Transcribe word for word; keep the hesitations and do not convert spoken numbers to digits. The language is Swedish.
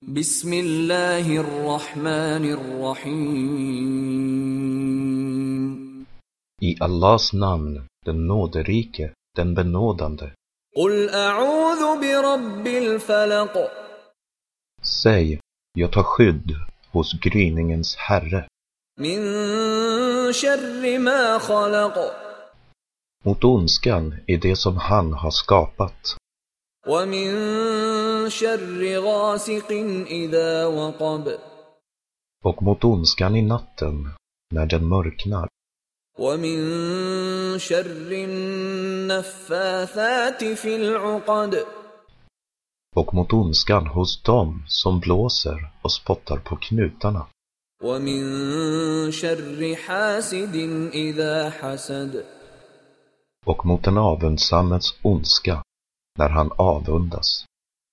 Bismillahirrahmanirrahim. I Allahs namn, den nåderike, den benådande. Qul a'udhu bi rabbil falaq. Säg, jag tar skydd hos gryningens herre. Min sharri ma khalaq. Mot ondskan i det som han har skapat. Wa min sharri ghasiqin idha waqab. Och mot ondskan i natten, när den mörknar. Wa min sharri naffathati fil 'uqad. Och mot ondskan hos dem som blåser och spottar på knutarna. Wa min sharri hasidin idha hasad. Och mot den avundsammets ondska, när han avundas.